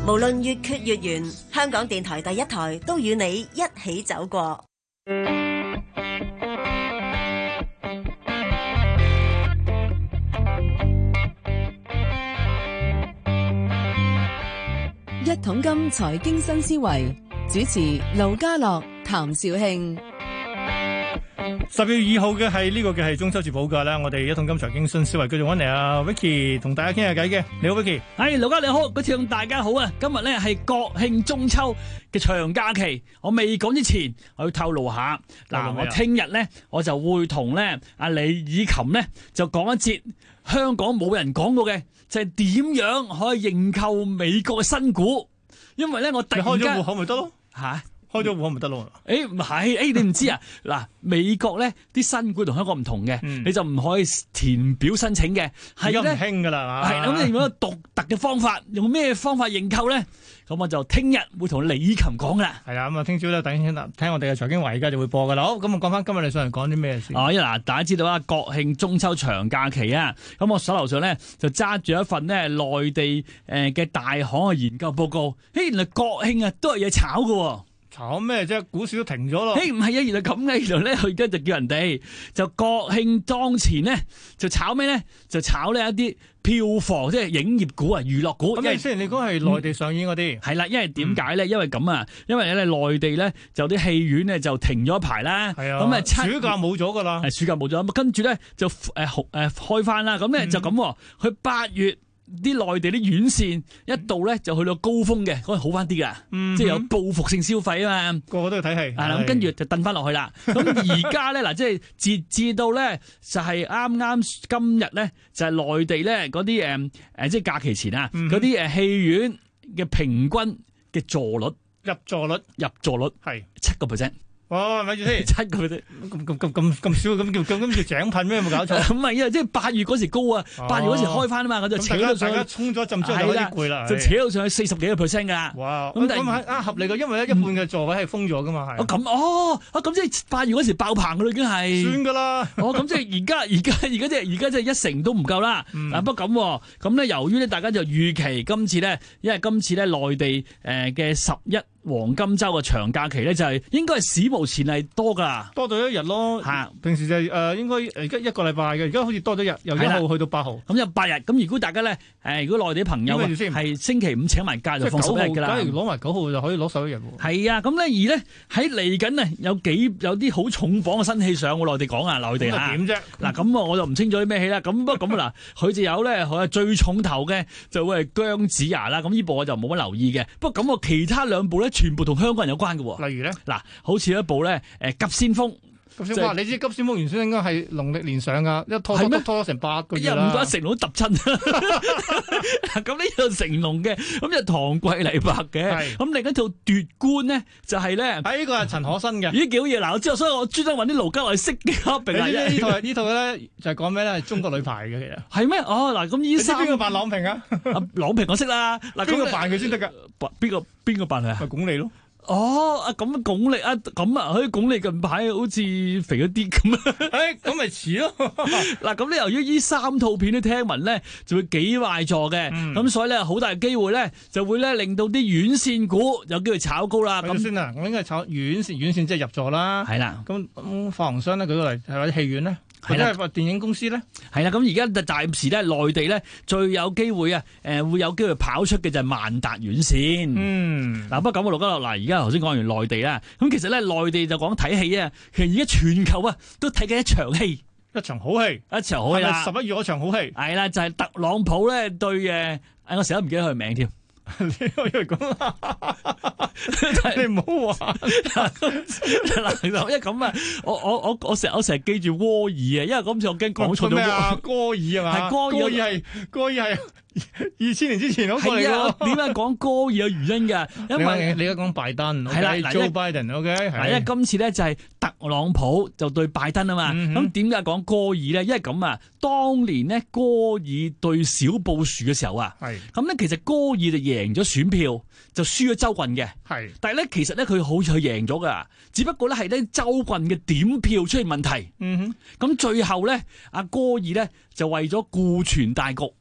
無論月缺月圓，香港電台第一台都與你一起走過。 一桶金財經新思維，主持盧家樂、譚兆慶。 10月2號嘅係中秋節補假啦，我哋一桶金財經新思維繼續揾嚟阿 Vicky 同大家傾下偈嘅。你好 Vicky， 係盧家你好，嗰次大家好啊！今日咧係國慶中秋嘅長假期，我未講之前，我要透露下嗱，我聽日咧我就會同咧阿李以琴咧就講一節香港冇人講過嘅，就係點樣可以認購美國嘅新股，因為咧我突然間開咗戶口咪得咯嚇。 開咗戶口咪得咯？ 唔係，你唔知啊？嗱，美國咧啲新股同香港唔同嘅，你就唔可以填表申請嘅，係咧唔興噶啦， 係咁你用一個獨特嘅方法，用咩方法認購咧？咁我就聽日會同李琴講啦。 係啊，咁啊，聽朝咧等聽我哋嘅財經華爾街就會播噶啦。好，咁啊，講翻今日你上嚟講啲咩先？ 嗱，大家知道啊，國慶中秋長假期啊，咁我手頭上咧就揸住一份咧內地嘅大行嘅研究報告。原來國慶啊都係嘢炒㗎。 炒咩啫？股市都停咗咯。 唔係啊，原來咁嘅。原來咧，佢而家就叫人哋就國慶當前咧，就炒咩咧？就炒呢一啲票房，即係影業股啊、娛樂股。 咁雖然你講係內地上映嗰啲， 係啦，因為點解咧？因為咁啊，因為咧內地咧就啲戲院咧就停咗一排啦。係啊。咁啊， 暑假冇咗噶啦。 係暑假冇咗，咁跟住咧就開翻啦。咁咧就咁，佢8月。啲內地啲院線一度咧就去到高峰嘅，可以好翻啲噶，即係有報復性消費啊嘛， 個個都去睇戲。 係啦，咁跟住就掟翻落去啦。咁而家咧嗱，即係截至到咧就係啱啱今日咧就係內地咧嗰啲即係假期前啊嗰啲戲院嘅平均嘅座率入座率係7%。 哦，咪住先 ，7%， 咁少，咁叫井噴咩？有冇搞錯？ 唔係啊，即係8月嗰時高啊，8月嗰時開翻啊嘛，我就扯到上去， 衝咗一陣之後就開始攰啦， 就扯到上去40幾個%噶。哇！ 咁合理嘅，因為咧一半嘅座位係封咗噶嘛，係。 咁即係8月嗰時爆棚噶啦，已經係。算噶啦。 咁即係而家即係1成都唔夠啦。不過咁咧，由於咧大家就預期今次咧，因為今次咧內地嘅11黃金週嘅長假期咧，就係應該係史無前例多噶， 多咗一日咯。平時就應該而家1個禮拜嘅，而家好似多咗日，由1號去到8號， 咁有8日。咁如果大家咧如果內地朋友係星期5請埋假就放11日噶啦。假如攞埋9號就可以攞11日喎。 係啊，咁咧而咧喺嚟緊啊有啲好重磅嘅新戲上喎，內地講啊，內地嚇。點啫？嗱咁我就唔清楚啲咩戲啦。咁不過咁嗱，佢就有咧佢最重頭嘅就會係姜子牙啦。咁呢部我就冇乜留意嘅。不過咁我其他2部咧，全部同香港人有關嘅喎。 例如咧， 嗱，好似一部咧急先鋒。 你知急先鋒原先應該係農曆年上噶，一拖咗成8個月啦。 唔怪成龍都揼親。咁呢套成龍嘅，咁就唐季禮拍嘅。咁另一套奪冠呢，就係咧。 呢個係陳可辛嘅。 咦，幾好嘢！嗱，我知道，所以我專登揾啲盧家樂識嘅。 呢套咧就係講咩咧？係中國女排嘅其實。係咩？嗱，咁呢三。 邊個扮郎平啊？ 郎平我識啦。嗱， 邊個扮佢先得噶？ 邊個扮佢啊？ 咪鞏俐咯。 咁鞏俐啊，咁啊，鞏俐近排好似肥咗啲咁啊， 咁咪似咯。 嗱，咁你由於呢3套片都聽聞咧，就會幾壞座嘅，咁所以咧好大機會咧，就會咧令到啲院線股有機會炒高啦。 咁先啊，我應該係炒院線即係入座啦。係啦，咁發行商咧舉個例，係或者戲院咧。係啦，電影公司咧， 係啦，咁而家暫時咧，內地咧最有機會啊，會有機會跑出嘅就係萬達院線。嗱，不過咁啊，盧家樂，嗱，而家頭先講完內地啦，咁其實咧內地就講睇戲啊，其實而家全球啊都睇緊一場戲， 一場好戲，係咪11月嗰場好戲？係啦，就係特朗普咧對我成日都唔記得佢名添。 你可以講，你唔好話嗱，因為咁啊，我成日記住戈爾啊，因為今次我驚講錯咗。咩啊？ 戈爾係嘛？係戈爾係2000年之前嗰個嚟咯。 點解講戈爾有原因嘅？因為你而家講拜登， 係啦 ，Joe Biden，OK， 因為今次咧就係特朗普就對拜登啊嘛。咁點解講戈爾咧？因為咁啊，當年咧戈爾對小布殊嘅時候啊，咁咧其實戈爾就贏咗選票，就輸咗州郡嘅。但係咧其實咧佢好似佢贏咗噶，只不過咧係咧州郡嘅點票出現問題。咁最後咧阿戈爾咧就為咗顧全大局。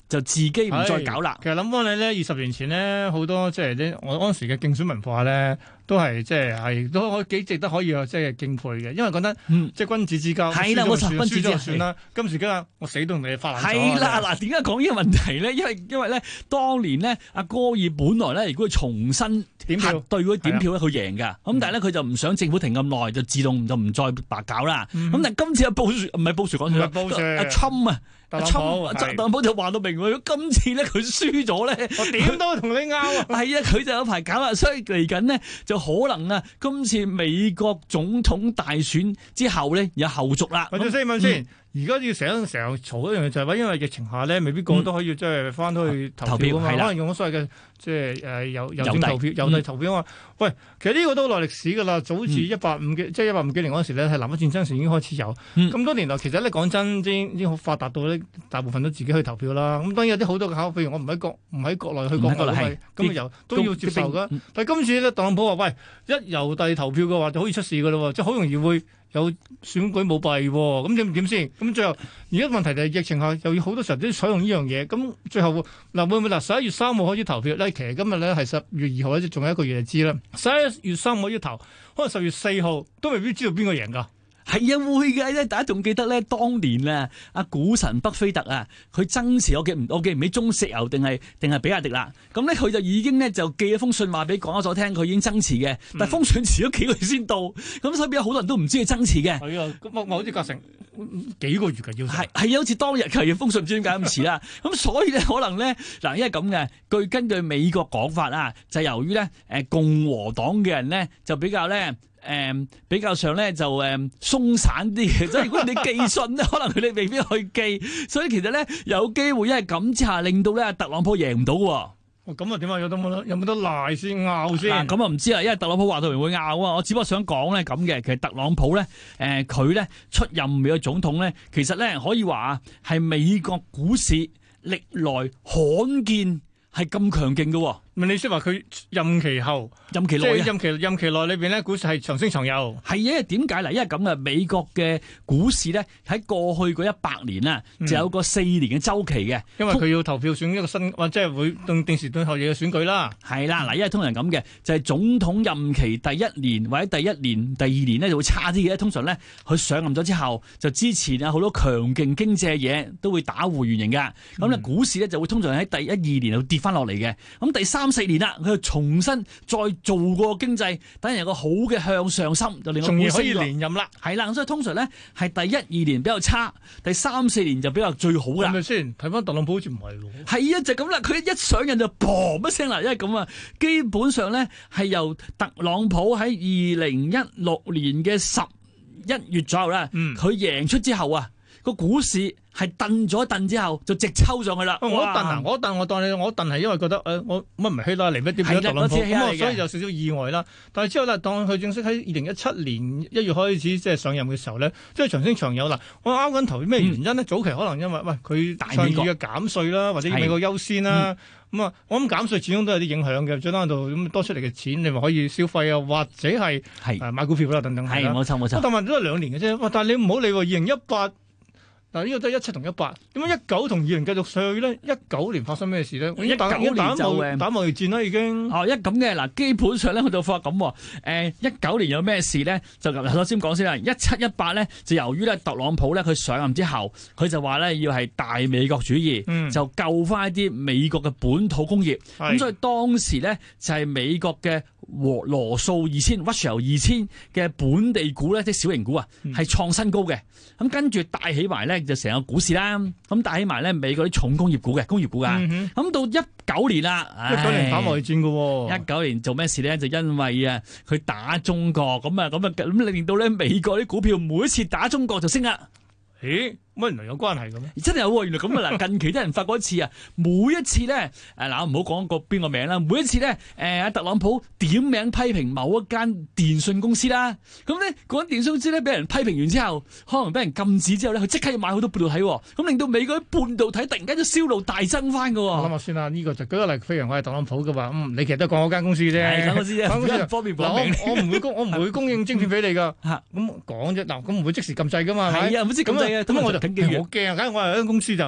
就自己唔再搞啦。 其實諗翻你咧，20年前咧，好多即係我嗰陣時嘅競選文化咧，都係即係都可幾值得可以即係敬佩嘅，因為覺得即係君子之交， 係啦，冇錯，君子之交就算啦。今時今日我死都同你發爛咗。 係啦，嗱，點解講呢個問題咧？因為咧，當年咧，阿戈爾本來咧，如果佢重新核對嗰啲點票咧，佢贏㗎。咁但係咧，佢就唔想政府停咁耐，就自動就唔再白搞啦。咁但係今次阿布殊唔係布殊講錯，阿侵啊。特朗普就話到明喎，今次咧佢輸咗咧， 我點都同你拗啊！ 係啊，佢就有排搞啦，所以嚟緊呢，就可能啊，今次美國總統大選之後咧有後續啦。 問先，而家要成日嘈一樣嘢就係話，因為疫情下咧，未必個個都可以即係翻到去投票啊嘛，可能用咗所謂嘅即係郵政投票、郵遞投票啊嘛。喂，其實呢個都好耐歷史㗎啦，早自150幾年嗰陣時咧，係南北戰爭時已經開始有。咁多年來，其實咧講真，已經好發達到咧，大部分都自己去投票啦。咁當然有啲好多嘅考，譬如我唔喺國內去國外，咁都要接受㗎。但係今次咧，特朗普話：喂，一郵遞投票嘅話，就好易出事㗎咯，即係好容易會有選舉舞弊喎。咁點先？咁最後而家問題就係疫情下又要好多時候都要採用呢樣嘢。咁最後嗱會唔會11月3號開始投票咧？其實今日咧係10月2號咧，仲有一個月就知啦。11月3號開始投，可能10月4號都未必知道邊個贏㗎。 係啊，會嘅咧，大家仲記得咧，當年啊，阿股神巴菲特啊，佢增持我記唔起中石油定係比亞迪啦。咁咧佢就已經咧就寄咗封信話俾港交所聽，佢已經增持嘅。但係封信遲咗幾個月先到，咁所以有好多人都唔知佢增持嘅。 係啊，咁我好似隔成幾個月嘅要係啊，好似當日嘅封信唔知點解咁遲啦。咁所以咧可能咧嗱，因為咁嘅，根據美國講法啊，就由於咧共和黨嘅人咧就比較咧。比較上咧就鬆散啲嘅，所以如果你寄信咧，可能佢哋未必去寄，所以其實咧有機會因為咁之下，令到咧特朗普贏唔到喎。 咁啊點啊？有冇得賴先拗先？ 嗱，咁啊唔知啦，因為特朗普話到明會拗啊，我只不過想講咧咁嘅，其實特朗普咧佢咧出任美國總統咧，其實咧可以話係美國股市歷來罕見係咁強勁嘅喎。 你先話佢任期後、 任期內啊， 任期內裏邊咧，股市係長升長有。 係啊，因為點解嗱？因為咁啊，美國嘅股市咧喺過去嗰100年啊，就有個4年嘅週期嘅。 因為佢要投票選一個新，即係會定時定候嘅選舉啦。 係啦，嗱，因為通常咁嘅，就係總統任期第1年或者第1年、第2年咧就會差啲嘅。通常咧，佢上任咗之後，就之前啊好多強勁經濟嘅嘢都會打回原形㗎。咁咧股市咧就會通常喺第1、2年就跌翻落嚟嘅。咁第3、4年啦，佢就重新再做過經濟，等人有個好嘅向上心，就令我仲可以連任啦。 係啦，所以通常咧係第1、2年比較差，第3、4年就比較最好啦。 係咪先？睇翻特朗普好似唔係喎。 係啊，就咁啦。佢一上任就砰一聲啦，因為咁啊，基本上咧係由特朗普喺2016年嘅11月左右啦，佢贏出之後啊，個股市係蹬咗一蹬之後就直抽上去啦。 我當係因為覺得我乜唔係希拉里乜點解特朗普咁啊，所以有少少意外啦。但係之後咧，當佢正式喺2017年1月開始即係上任嘅時候咧，即係長升長有啦。我拗緊頭咩原因呢？早期可能因為佢倡議嘅減稅啦，或者美國優先啦。咁啊，我諗減稅始終都有啲影響嘅，最低限度咁多出嚟嘅錢，你咪可以消費啊，或者係買股票啦等等。 係冇錯。 但係都係2年嘅啫。但係你唔好理喎，2018。嗱，呢個都係17同18，點解19同20繼續上去咧？19年發生咩事咧？19年就打貿易戰啦，已經。哦，咁嘅嗱，基本上咧，佢就發咁喎。19年有咩事咧？就首先講先啦。17、18咧，就由於咧特朗普咧佢上任之後，佢就話咧要係大美國主義，就救翻一啲美國嘅本土工業。咁所以當時咧就係美國嘅羅素Russell 2000嘅本地股咧，即係小型股啊，係創新高嘅。咁跟住帶起埋咧就成個股市啦，咁帶起埋咧美國啲重工業股嘅工業股啊。咁到19年啦，19年打貿易戰嘅喎。19年做咩事咧？就因為啊佢打中國，咁令到咧美國啲股票每一次打中國就升啦。咦？乜原來有關係嘅咩？真係有喎，原來咁啊！嗱，近期啲人發過一次啊，每一次咧，嗱，唔好講個邊個名啦，每一次咧，阿特朗普點名批評某一間電信公司啦，咁咧嗰間電信公司咧俾人批評完之後，可能俾人禁止之後咧，佢即刻要買好多半導體喎，咁令到美國啲半導體突然間就銷路大增翻嘅喎。我諗下先啦，呢個就舉個例，譬如我係特朗普嘅話，你其實都講嗰間公司啫，係間公司啫，方便講明。我唔會供應晶片俾你㗎，咁講啫，嗱，咁唔會即時禁制㗎嘛，係啊，唔會即時禁制嘅，咁我就。好驚啊！梗係我係間公司就咁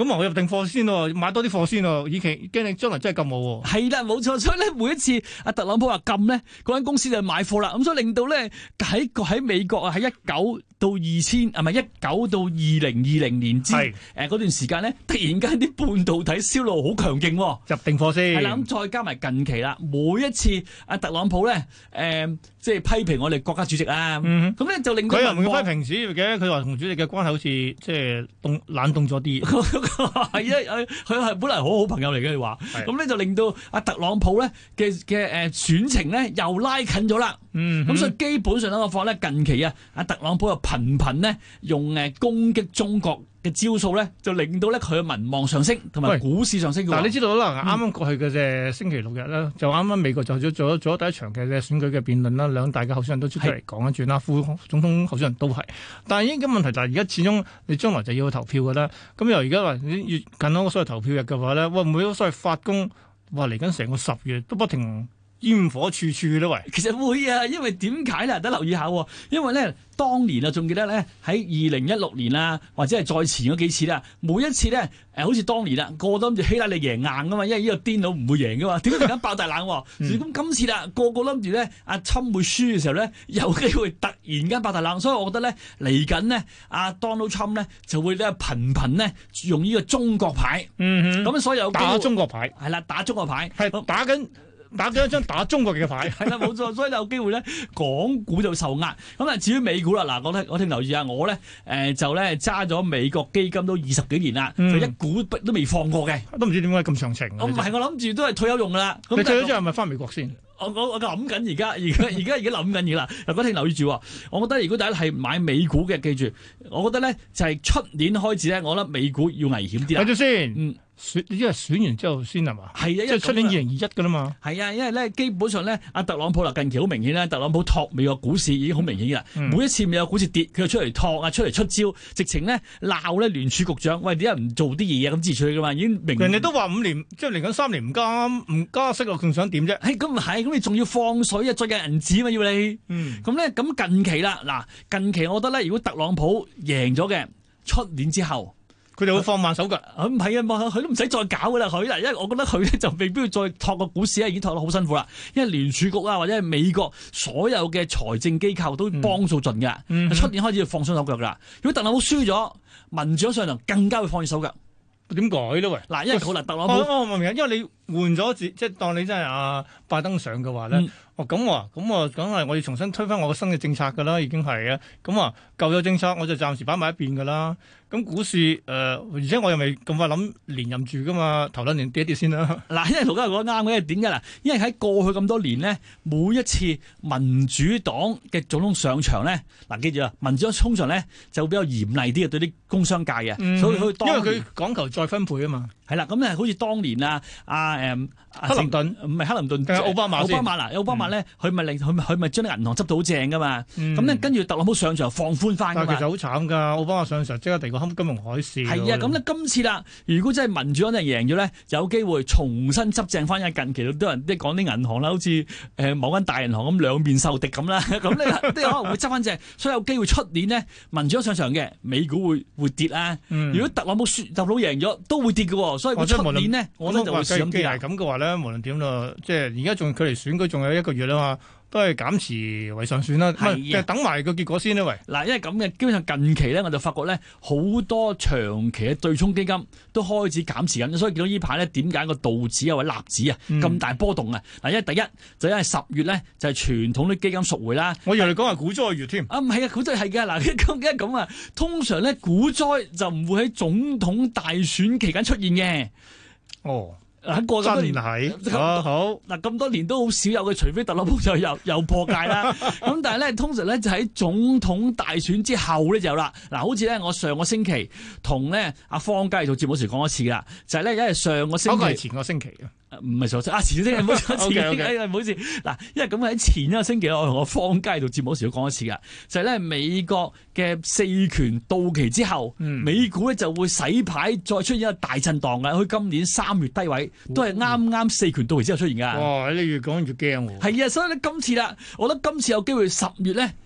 咁我入定貨先喎，買多啲貨先喎，以期驚你將來真係禁我喎。 係啦，冇錯，所以咧每一次阿特朗普話禁咧，嗰間公司就買貨啦，咁所以令到咧喺美國啊，喺19到2000係咪19到2020年之嗰段時間咧，突然間啲半導體銷路好強勁喎， 入定貨先。 係啦，咁再加埋近期啦，每一次阿特朗普咧即係批評我哋國家主席啊，咁咧就令到佢又唔會批評主席嘅，佢話同主席嘅關係好似即係冷凍咗啲。 係啊，佢係本來好好朋友嚟嘅，你話，咁咧就令到阿特朗普咧嘅選情咧又拉近咗啦。咁所以基本上我發咧近期啊，阿特朗普又頻頻咧用攻擊中國嘅招數咧，就令到咧佢嘅民望上升，同埋股市上升。 嗱，你知道啦，啱啱過去嘅隻星期六日咧，就啱啱美國就做咗第一場嘅選舉嘅辯論啦，兩大嘅候選人都出嚟講一轉啦，副總統候選人都係。但係依家問題就係而家始終你將來就要去投票㗎啦。咁由而家話越近嗰個所謂投票日嘅話咧，會唔會所謂發功話嚟緊成個10月都不停煙火處處咧？喂， 其實會啊，因為點解咧？得留意下，因為咧當年啊，仲記得咧喺2016年啊，或者係再前嗰幾次啦，每一次咧好似當年啦，個個都諗住希拉里贏硬噶嘛，因為呢個癲佬唔會贏噶嘛，點解突然間爆大冷？咁今次啦，個個諗住咧阿侵會輸嘅時候咧，有機會突然間爆大冷，所以我覺得咧嚟緊呢，阿 Donald Trump 咧就會咧頻頻咧用呢個中國牌，咁所以有打中國牌係啦，打中國牌係打緊一張打中國嘅牌， 係啦，冇錯，所以有機會咧，港股就受壓。咁啊，至於美股啦，嗱，我聽留意下，我咧就咧揸咗美國基金都20幾年啦，就一股都未放過嘅， 都唔知點解咁長情。 我唔係，我諗住都係退休用噶啦。 你退休之後係咪翻美國先？ 我諗緊而家諗緊嘢啦。嗱，嗰聽留意住，我覺得如果大家係買美股嘅，記住，我覺得咧就係出年開始咧，我覺得美股要危險啲啦。 睇住先。因為選完之後先係嘛？係啊，即係出年2021㗎啦嘛。係啊，因為咧基本上咧，阿特朗普啦近期好明顯咧，特朗普托美國股市已經好明顯㗎啦。每一次美國股市跌，佢就出嚟托啊，出嚟出招，直情咧鬧咧聯儲局長，喂，點解唔做啲嘢啊？咁支持佢㗎嘛，已經明。人哋都話5年，即係嚟緊3年唔加息啊，仲想點啫？咁唔係，咁你仲要放水啊，再印銀紙嘛要你。咁咧咁近期啦，嗱近期我覺得咧，如果特朗普贏咗嘅，出年之後。佢哋會放慢手腳，唔係啊，佢都唔使再搞噶啦，佢嗱，因為我覺得佢咧就未必要再托個股市已經托得好辛苦啦。因為聯儲局啊，或者係美國所有嘅財政機構都幫數盡嘅，出年開始要放鬆手腳啦。如果特朗普輸咗，民主上場更加會放軟手腳。點改咧？喂，嗱，因為好難特朗普，我明啊，因為你換咗即係當你真係阿拜登上嘅話咧，咁梗係我要重新推翻我個新嘅政策噶啦，已經係啊，咁舊有政策我就暫時擺埋一邊噶啦。咁股市而且我又未咁快諗連任住噶嘛，頭兩年跌一跌先啦。嗱，因為盧家講得啱嘅，因為點解嗱？因為喺過去咁多年呢，每一次民主黨嘅總統上場咧，嗱，記住啊，民主黨通常咧就比較嚴厲啲嘅對啲工商界嘅，所以佢因為佢講求再分配啊嘛。係啦，咁咧好似當年克林頓唔係克林頓，奧巴馬嗱，奧巴馬咧佢咪將啲銀行執到好正噶嘛。咁咧跟住特朗普上場放寬翻。但係其實好慘㗎，奧巴馬上場即刻第二個金融海嘯。係啊，咁咧今次啦，如果真係民主黨真係贏咗咧，就有機會重新執正翻。因為近期都有人即係講啲銀行啦，好似某間大銀行咁兩面受敵咁啦。咁咧都可能會執翻正，所以有機會出年呢，民主黨上場嘅美股會跌啦。如果特朗普贏咗都會跌嘅，所以出年呢，我覺得就會小心啲。既然係咁嘅話咧，無論點咯，即係而家仲距離選舉仲有1個月啦嘛。都係減持為上選啦，等埋個結果先啦，喂！嗱，因為咁嘅，基本上近期咧，我就發覺咧，好多長期嘅對沖基金都開始減持緊，所以見到呢排咧，點解個道指啊或者納指啊咁大波動啊？嗱，因為第一就因為10月咧就係傳統啲基金贖回啦。我以為你講係股災月添。啊，唔係啊，股災係嘅。嗱，咁啊，通常咧股災就唔會喺總統大選期間出現嘅。哦。喺過咗年係好嗱，咁多年都好少有嘅，除非特朗普就又破戒啦。咁但係咧，通常咧就喺總統大選之後咧就有啦。嗱，好似咧我上個星期同咧阿方佳做節目時講一次啦，就係咧因為上個星期係前個星期唔係錯前星期，唔好錯前星期，唔好意思。嗱，因為咁喺前一個星期我同我方佳做節目時都講一次噶，就係咧美國嘅4權到期之後，美股咧就會洗牌，再出現一個大震盪嘅。佢今年3月低位都係啱4權到期之後出現噶。哇！你越講越驚喎。係啊，所以咧今次啦，我覺得今次有機會10月咧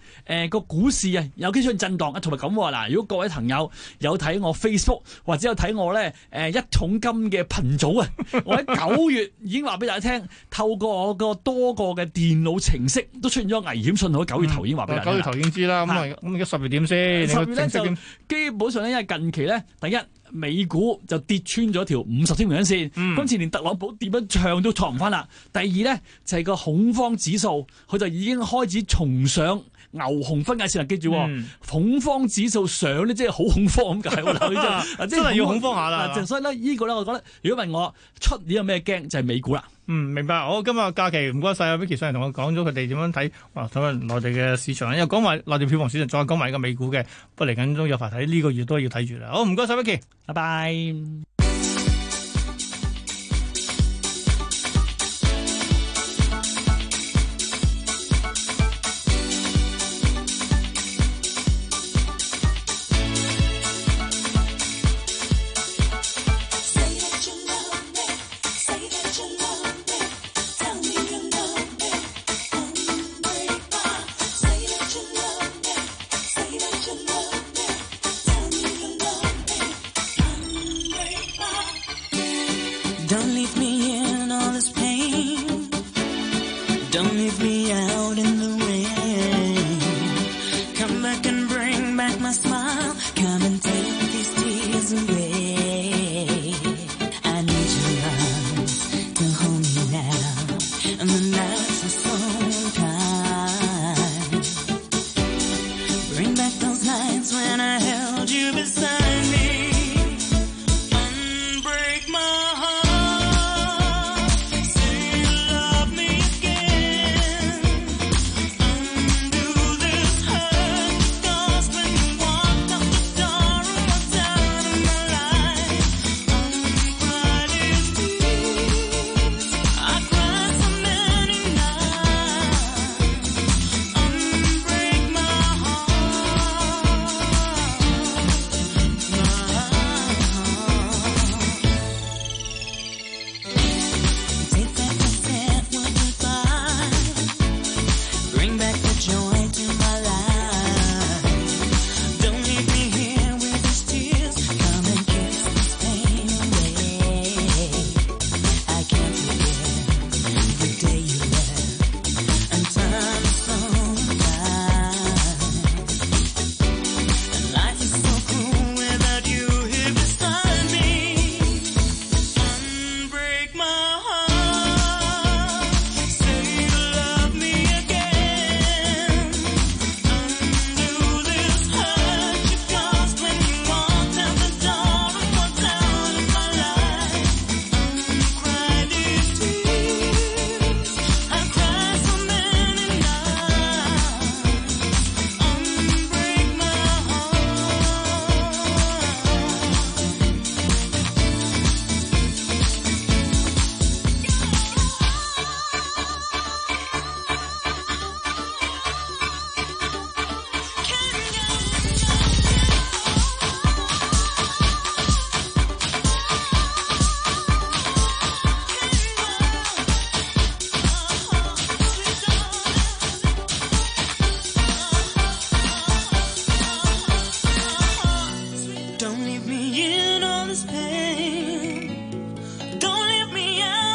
個股市啊有機會震盪啊，同埋咁嗱，如果各位朋友有睇我 Facebook 或者有睇我咧一桶金嘅頻組啊，我喺9月已經話俾大家聽，透過我個多個嘅電腦程式都出現咗危險信號。9月頭已經話俾大家聽，9月頭已經知啦。咁而家10月點先？10月咧就基本上咧，因為近期咧，第一美股就跌穿咗條50天平均線，今次連特朗普點樣唱都創唔翻啦。第二咧就係個恐慌指數，佢就已經開始重上牛熊分界線啦。記住，恐慌指數上咧，即係好恐慌咁解。真係要恐慌下啦。所以咧，呢個咧，我覺得如果問我出年有咩驚，就係美股啦。明白。好，今日假期唔該晒啊 Vicky 上嚟同我講咗佢哋點樣睇睇下內地嘅市場，又講埋內地票房市場，再講埋個美股嘅，不過嚟緊都有排睇，呢個月都要睇住啦。好，唔該晒 Vicky， 拜拜。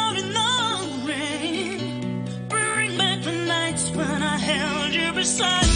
When I held you beside